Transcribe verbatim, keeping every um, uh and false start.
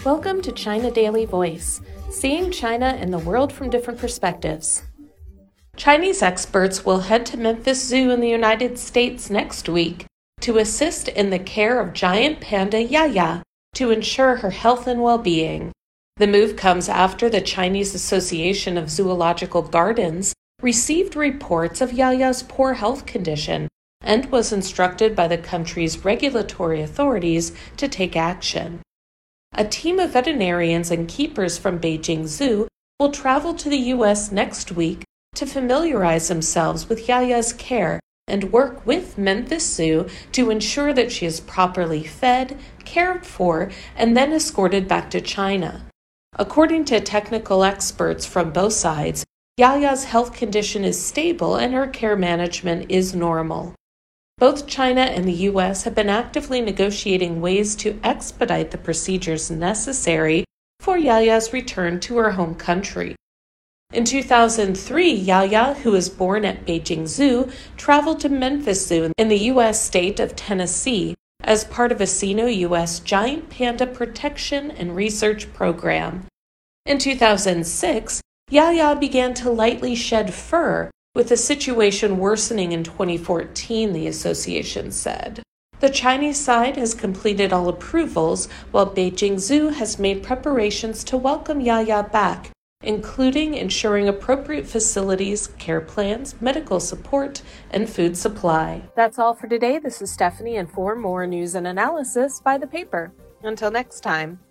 Welcome to China Daily Voice, seeing China and the world from different perspectives. Chinese experts will head to Memphis Zoo in the United States next week to assist in the care of giant panda Yaya to ensure her health and well-being. The move comes after the Chinese Association of Zoological Gardens received reports of Yaya's poor health condition and was instructed by the country's regulatory authorities to take action. A team of veterinarians and keepers from Beijing Zoo will travel to the U S next week to familiarize themselves with Yaya's care and work with Memphis Zoo to ensure that she is properly fed, cared for, and then escorted back to China. According to technical experts from both sides, Yaya's health condition is stable and her care management is normal. Both China and the U S have been actively negotiating ways to expedite the procedures necessary for Yaya's return to her home country. In two thousand three, Yaya, who was born at Beijing Zoo, traveled to Memphis Zoo in the U S state of Tennessee as part of a Sino-U S Giant Panda Protection and Research Program. In two thousand six, Yaya began to lightly shed fur, with the situation worsening in twenty fourteen, the association said. The Chinese side has completed all approvals, while Beijing Zoo has made preparations to welcome Yaya back, including ensuring appropriate facilities, care plans, medical support, and food supply. That's all for today. This is Stephanie, and for more news and analysis, buy the paper. Until next time.